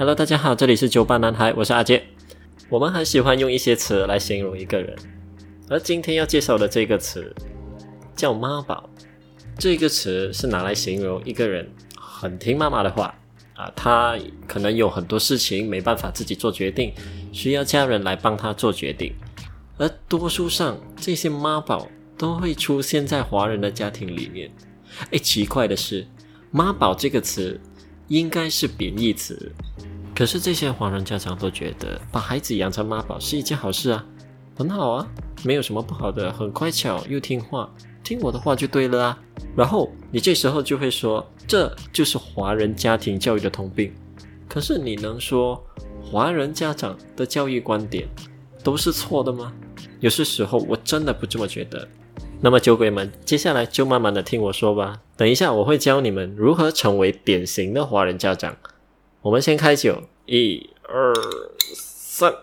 Hello， 大家好，这里是酒吧男孩，我是阿杰。我们很喜欢用一些词来形容一个人，而今天要介绍的这个词叫妈宝。这个词是拿来形容一个人很听妈妈的话他可能有很多事情没办法自己做决定，需要家人来帮他做决定。而多数上这些妈宝都会出现在华人的家庭里面。奇怪的是，妈宝这个词应该是贬义词，可是这些华人家长都觉得把孩子养成妈宝是一件好事啊，很好啊，没有什么不好的，很乖巧又听话，听我的话就对了啊。然后你这时候就会说，这就是华人家庭教育的通病。可是你能说华人家长的教育观点都是错的吗？有些时候我真的不这么觉得。那么酒鬼们，接下来就慢慢的听我说吧。等一下我会教你们如何成为典型的华人家长。我们先开酒，1、2、3。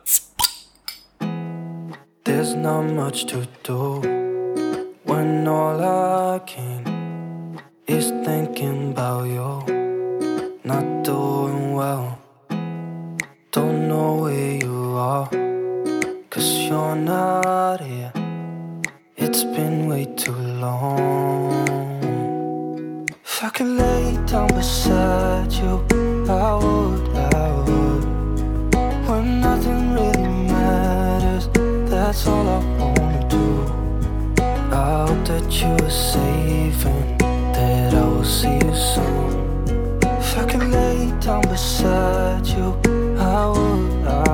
There's not much to do when all I can is thinking about you. Not doing well, don't know where you are, 'cause you're not here. It's been way too long. If I could lay down beside you, I would. When nothing really matters, that's all I wanna do. I hope that you are safe and that I will see you soon. If I could lay down beside you, I would.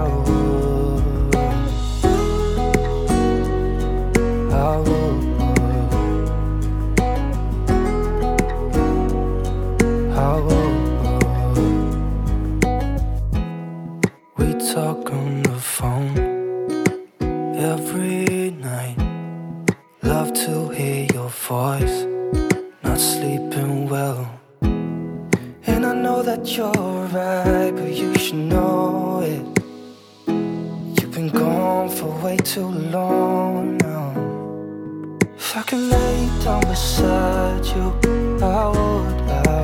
We talk on the phone every night. Love to hear your voice. Not sleeping well, and I know that you're right, but you should know it. You've been gone for way too long now. If I could lay down beside you, I would.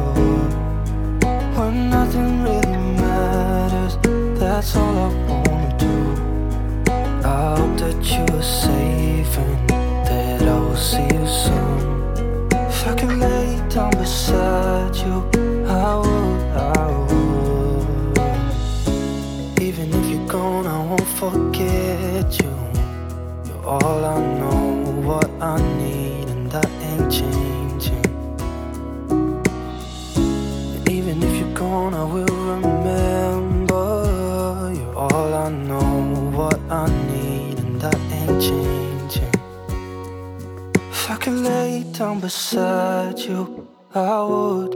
When nothing really matters, that's all I wanna do. I hope that you are safe and that I will see you soon. If I could lay down beside you, I would. Even if you're gone, I won't forget you. You're all I know, what I need, and that ain't changing. Even if you're gone, I will remember. You're all I know, what I need, and that ain't changing. If I could lay down beside you, I would.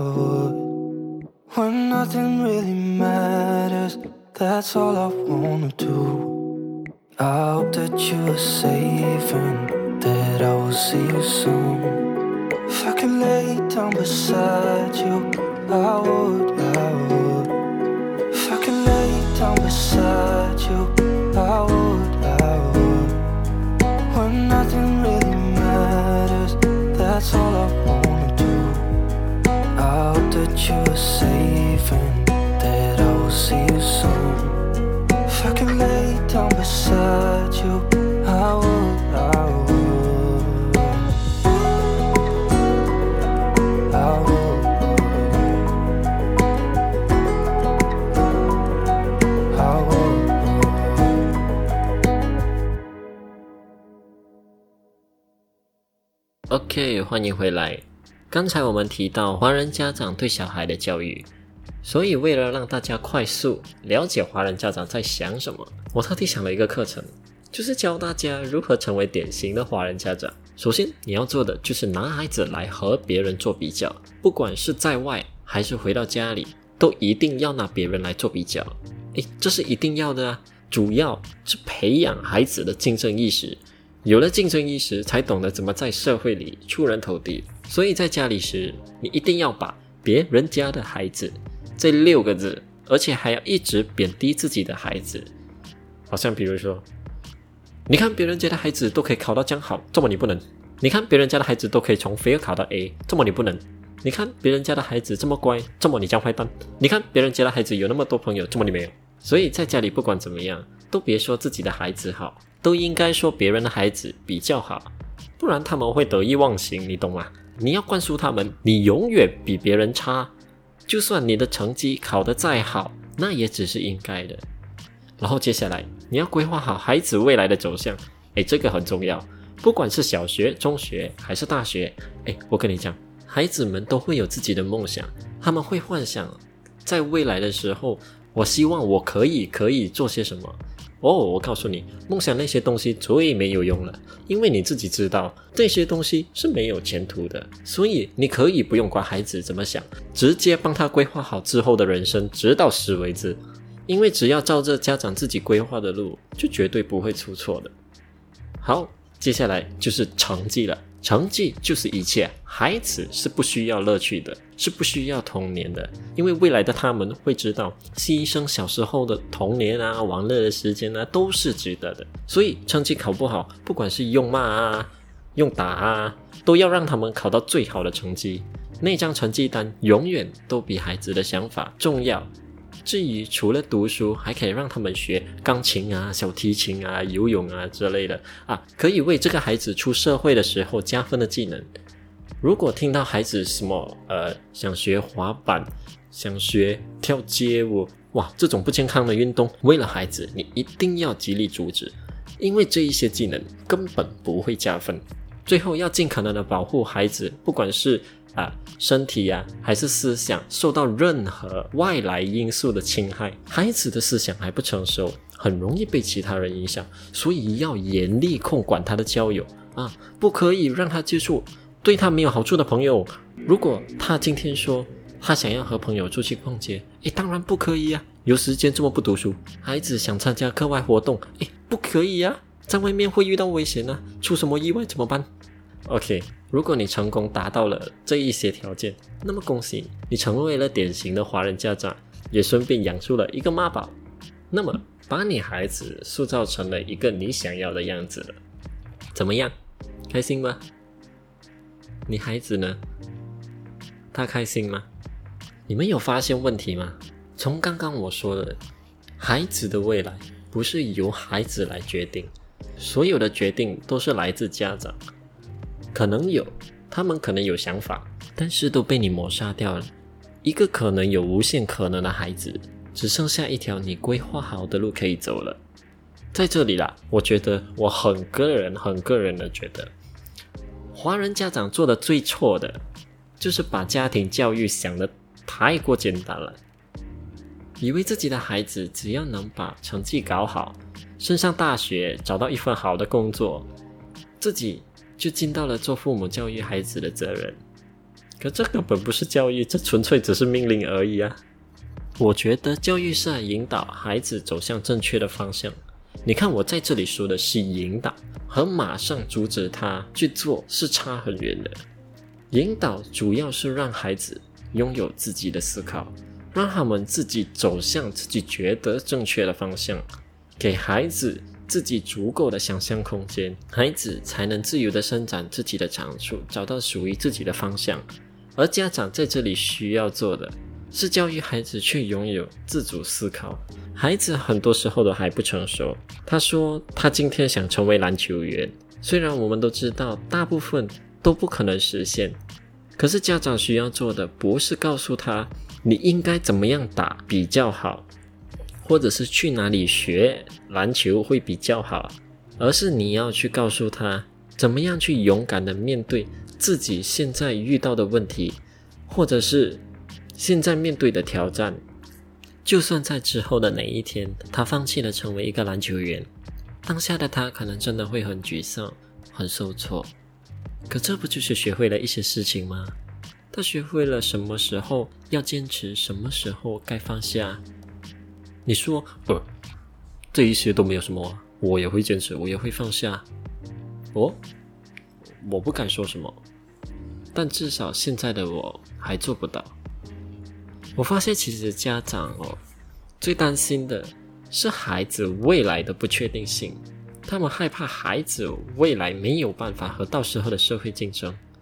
When nothing really matters, that's all I wanna do. I hope that you are safe and that I will see you soon. If I could lay down beside you, I would. If I could lay down beside you, I would. When nothing really matters, that's all I wanna do. I hope that you are safe and that I will see you soon. If I could lay down beside you, I would. OK， 欢迎回来。刚才我们提到华人家长对小孩的教育，所以为了让大家快速了解华人家长在想什么，我特地想了一个课程，就是教大家如何成为典型的华人家长。首先你要做的就是拿孩子来和别人做比较，不管是在外还是回到家里，都一定要拿别人来做比较。这是一定要的啊，主要是培养孩子的竞争意识。有了竞争意识，才懂得怎么在社会里出人头地。所以在家里时，你一定要把别人家的孩子这6个字，而且还要一直贬低自己的孩子。好像比如说，你看别人家的孩子都可以考到这样好，怎么你不能？你看别人家的孩子都可以从非要考到 A， 怎么你不能？ 你看别人家的孩子这么乖，这么你这样坏蛋，你看别人家的孩子有那么多朋友，这么你没有。所以在家里不管怎么样，都别说自己的孩子好，都应该说别人的孩子比较好，不然他们会得意忘形，你懂吗？你要灌输他们，你永远比别人差，就算你的成绩考得再好，那也只是应该的。然后接下来你要规划好孩子未来的走向，这个很重要，不管是小学、中学还是大学，我跟你讲，孩子们都会有自己的梦想，他们会幻想在未来的时候，我希望我可以做些什么。我告诉你，梦想那些东西最没有用了，因为你自己知道这些东西是没有前途的，所以你可以不用管孩子怎么想，直接帮他规划好之后的人生，直到死为止。因为只要照着家长自己规划的路，就绝对不会出错的。好，接下来就是成绩了。成绩就是一切，孩子是不需要乐趣的，是不需要童年的，因为未来的他们会知道牺牲小时候的童年啊、玩乐的时间啊都是值得的。所以成绩考不好，不管是用骂啊、用打啊，都要让他们考到最好的成绩。那张成绩单永远都比孩子的想法重要。至于除了读书，还可以让他们学钢琴啊、小提琴啊、游泳啊之类的可以为这个孩子出社会的时候加分的技能。如果听到孩子什么想学滑板、想学跳街舞，这种不健康的运动，为了孩子你一定要极力阻止，因为这一些技能根本不会加分。最后要尽可能的保护孩子，不管是身体还是思想受到任何外来因素的侵害。孩子的思想还不成熟，很容易被其他人影响，所以要严厉控管他的交友不可以让他接触对他没有好处的朋友。如果他今天说他想要和朋友出去逛街，当然不可以有时间这么不读书。孩子想参加课外活动，不可以在外面会遇到危险出什么意外怎么办？OK， 如果你成功达到了这一些条件，那么恭喜你成为了典型的华人家长，也顺便养出了一个妈宝。那么把你孩子塑造成了一个你想要的样子了，怎么样？开心吗？你孩子呢？他开心吗？你们有发现问题吗？从刚刚我说的，孩子的未来不是由孩子来决定，所有的决定都是来自家长。他们可能有想法，但是都被你抹杀掉了。一个可能有无限可能的孩子，只剩下一条你规划好的路可以走了。在这里啦，我觉得我很个人的觉得，华人家长做的最错的，就是把家庭教育想得太过简单了，以为自己的孩子只要能把成绩搞好，升上大学，找到一份好的工作，自己就尽到了做父母教育孩子的责任。可这根本不是教育，这纯粹只是命令而已我觉得教育是来引导孩子走向正确的方向。你看我在这里说的是引导，和马上阻止他去做是差很远的。引导主要是让孩子拥有自己的思考，让他们自己走向自己觉得正确的方向，给孩子自己足够的想象空间，孩子才能自由地伸展自己的长处，找到属于自己的方向。而家长在这里需要做的是教育孩子去拥有自主思考。孩子很多时候都还不成熟，他说他今天想成为篮球员，虽然我们都知道大部分都不可能实现，可是家长需要做的不是告诉他你应该怎么样打比较好，或者是去哪里学篮球会比较好，而是你要去告诉他怎么样去勇敢的面对自己现在遇到的问题，或者是现在面对的挑战。就算在之后的哪一天他放弃了成为一个篮球员，当下的他可能真的会很沮丧，很受挫，可这不就是学会了一些事情吗？他学会了什么时候要坚持，什么时候该放下。你说这一些都没有什么我也会坚持，我也会放下。我不敢说什么，但至少现在的我还做不到。我发现其实家长最担心的是孩子未来的不确定性，他们害怕孩子未来没有办法和到时候的社会竞争，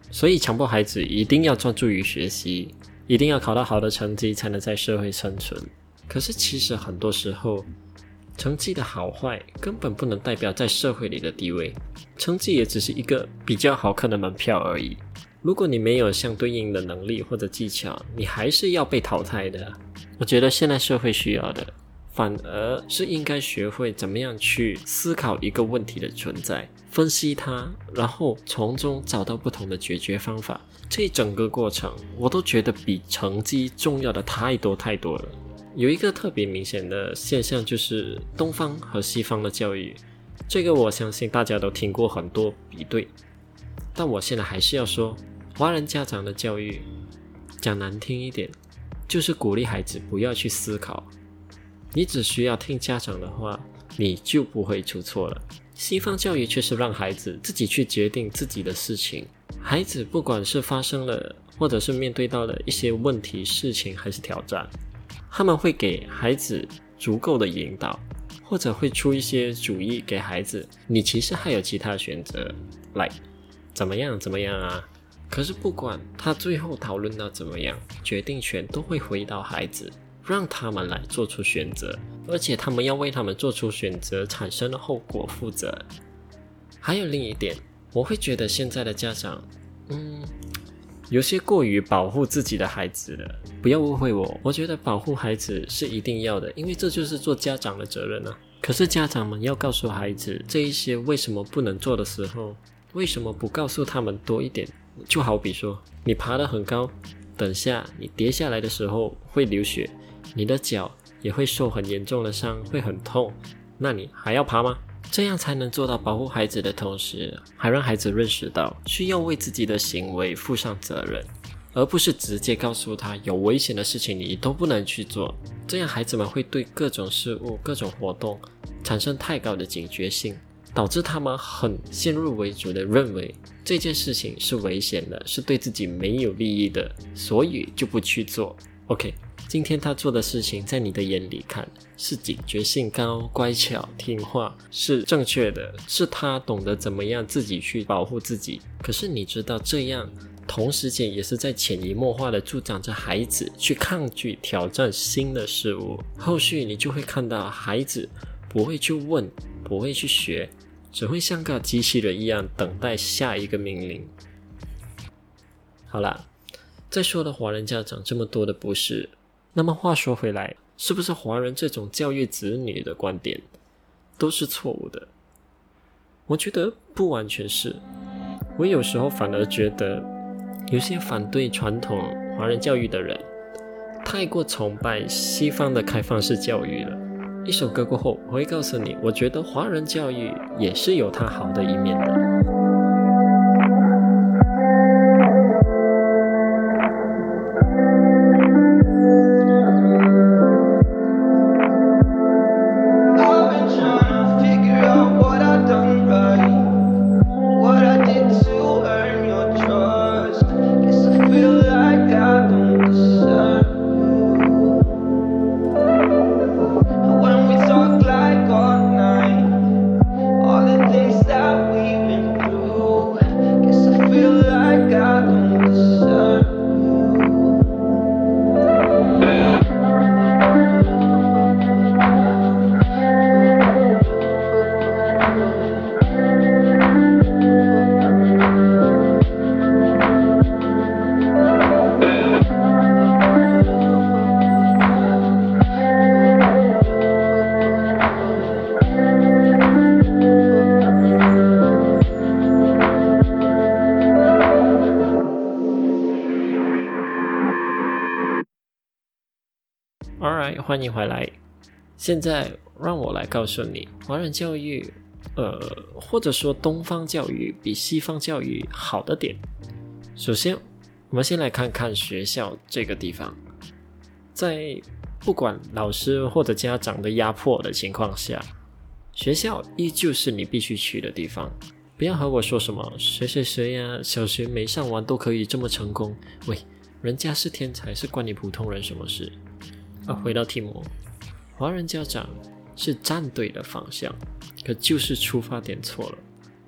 所以强迫孩子一定要专注于学习，一定要考到好的成绩才能在社会生存。可是其实很多时候，成绩的好坏根本不能代表在社会里的地位，成绩也只是一个比较好看的门票而已。如果你没有相对应的能力或者技巧，你还是要被淘汰的。我觉得现在社会需要的反而是应该学会怎么样去思考一个问题的存在，分析它，然后从中找到不同的解决方法。这整个过程我都觉得比成绩重要的太多太多了。有一个特别明显的现象，就是东方和西方的教育，这个我相信大家都听过很多比对，但我现在还是要说，华人家长的教育讲难听一点，就是鼓励孩子不要去思考，你只需要听家长的话，你就不会出错了。西方教育却是让孩子自己去决定自己的事情，孩子不管是发生了或者是面对到了一些问题、事情还是挑战，他们会给孩子足够的引导，或者会出一些主意给孩子，你其实还有其他选择，来怎么样啊。可是不管他最后讨论到怎么样，决定权都会回到孩子，让他们来做出选择，而且他们要为他们做出选择产生的后果负责。还有另一点，我会觉得现在的家长有些过于保护自己的孩子了。不要误会我觉得保护孩子是一定要的，因为这就是做家长的责任啊。可是家长们要告诉孩子这一些为什么不能做的时候，为什么不告诉他们多一点？就好比说，你爬得很高，等下你跌下来的时候会流血，你的脚也会受很严重的伤，会很痛，那你还要爬吗？这样才能做到保护孩子的同时，还让孩子认识到需要为自己的行为负上责任，而不是直接告诉他有危险的事情你都不能去做。这样孩子们会对各种事物、各种活动产生太高的警觉性，导致他们很先入为主的认为这件事情是危险的，是对自己没有利益的，所以就不去做。 OK， 今天他做的事情在你的眼里看是警觉性高、乖巧、听话，是正确的，是他懂得怎么样自己去保护自己。可是你知道，这样同时间也是在潜移默化的助长着孩子去抗拒挑战新的事物。后续你就会看到孩子不会去问，不会去学，只会像个机器人一样等待下一个命令。好啦，再说的华人家长这么多的不是，那么话说回来，是不是华人这种教育子女的观点都是错误的？我觉得不完全是。我有时候反而觉得有些反对传统华人教育的人太过崇拜西方的开放式教育了。一首歌过后，我会告诉你，我觉得华人教育也是有它好的一面的。Alright， 欢迎回来。现在让我来告诉你，华人教育或者说东方教育比西方教育好的点。首先，我们先来看看学校这个地方。在不管老师或者家长的压迫的情况下，学校依旧是你必须去的地方。不要和我说什么谁谁谁呀，小学没上完都可以这么成功。喂，人家是天才，是关你普通人什么事？回到题目，华人家长是站对的方向，可就是出发点错了。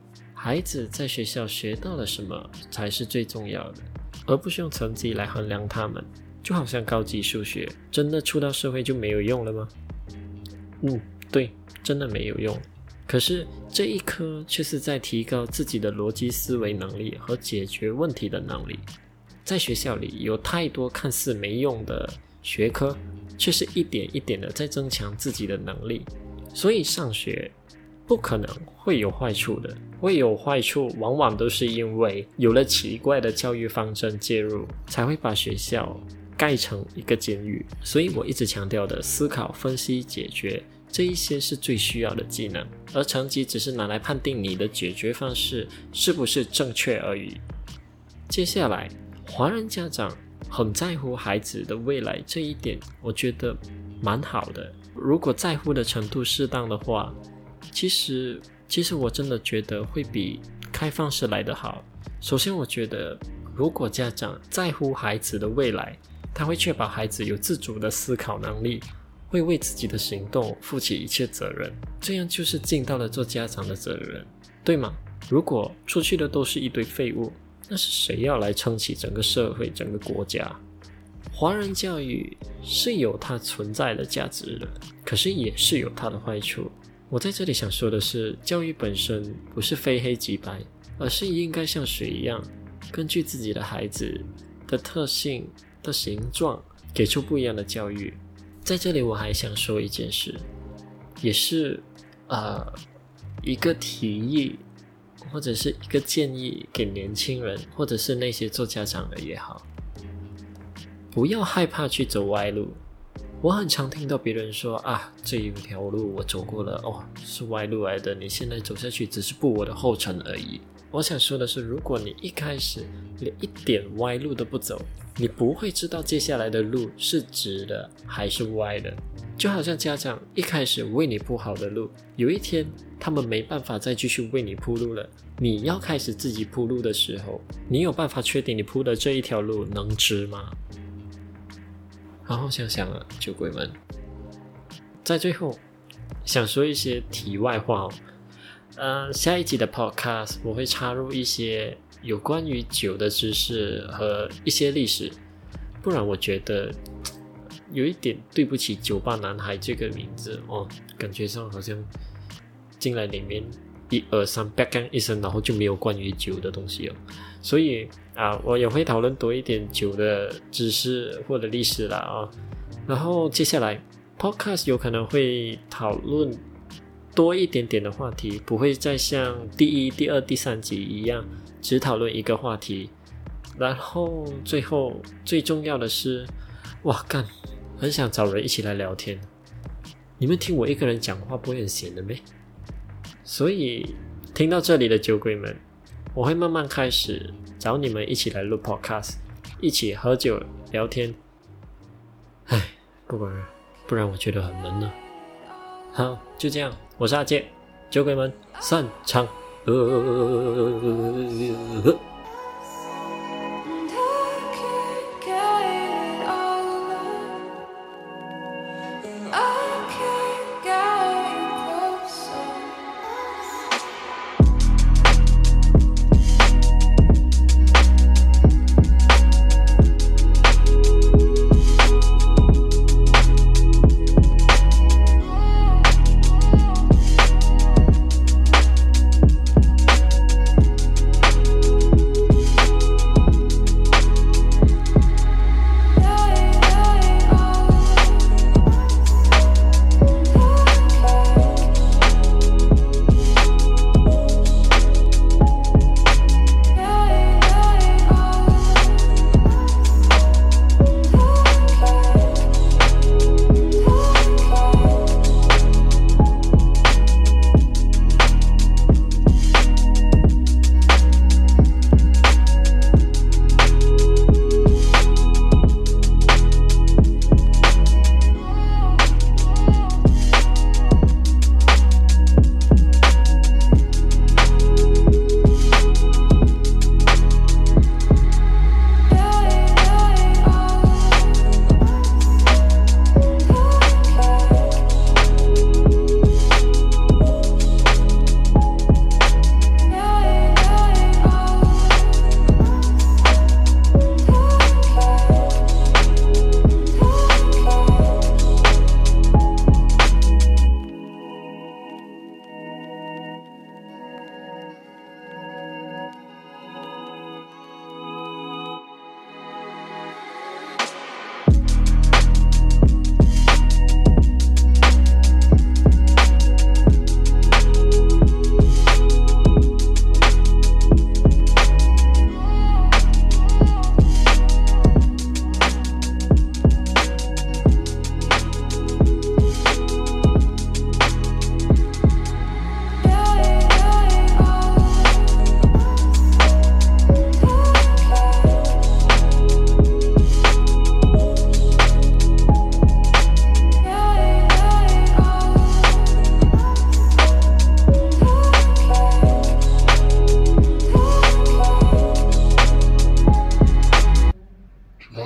孩子在学校学到了什么才是最重要的，而不是用成绩来衡量他们。就好像高级数学，真的出到社会就没有用了吗？对，真的没有用。可是这一科却是在提高自己的逻辑思维能力和解决问题的能力。在学校里有太多看似没用的学科，却是一点一点的在增强自己的能力。所以上学不可能会有坏处的，会有坏处往往都是因为有了奇怪的教育方针介入，才会把学校盖成一个监狱。所以我一直强调的思考、分析、解决，这一些是最需要的技能，而成绩只是拿来判定你的解决方式是不是正确而已。接下来，华人家长很在乎孩子的未来，这一点我觉得蛮好的。如果在乎的程度适当的话，其实我真的觉得会比开放式来得好。首先我觉得如果家长在乎孩子的未来，他会确保孩子有自主的思考能力，会为自己的行动负起一切责任，这样就是尽到了做家长的责任，对吗？如果出去的都是一堆废物，那是谁要来撑起整个社会、整个国家？华人教育是有它存在的价值的，可是也是有它的坏处。我在这里想说的是，教育本身不是非黑即白，而是应该像水一样，根据自己的孩子的特性的形状，给出不一样的教育。在这里我还想说一件事，也是一个提议或者是一个建议给年轻人，或者是那些做家长的也好，不要害怕去走歪路。我很常听到别人说这一条路我走过了，是歪路来的，你现在走下去只是步我的后尘而已。我想说的是，如果你一开始连一点歪路都不走，你不会知道接下来的路是直的还是歪的。就好像家长一开始为你铺好的路，有一天他们没办法再继续为你铺路了，你要开始自己铺路的时候，你有办法确定你铺的这一条路能直吗？好好想想酒鬼们。在最后想说一些题外话下一集的 podcast 我会插入一些有关于酒的知识和一些历史，不然我觉得有一点对不起酒吧男孩这个名字感觉上好像进来里面1、2、3 back 一声，然后就没有关于酒的东西所以我也会讨论多一点酒的知识或者历史啦然后接下来 podcast 有可能会讨论多一点点的话题，不会再像第1、第2、第3集一样只讨论一个话题。然后最后最重要的是，很想找人一起来聊天。你们听我一个人讲话不会很闲的咩？所以听到这里的酒鬼们，我会慢慢开始找你们一起来录 podcast， 一起喝酒聊天。不然我觉得很闷呢。好，就这样，我是阿杰，酒鬼们散场。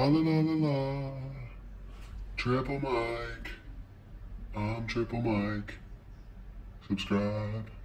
la la la la. Triple Mike. I'm Triple Mike. Subscribe.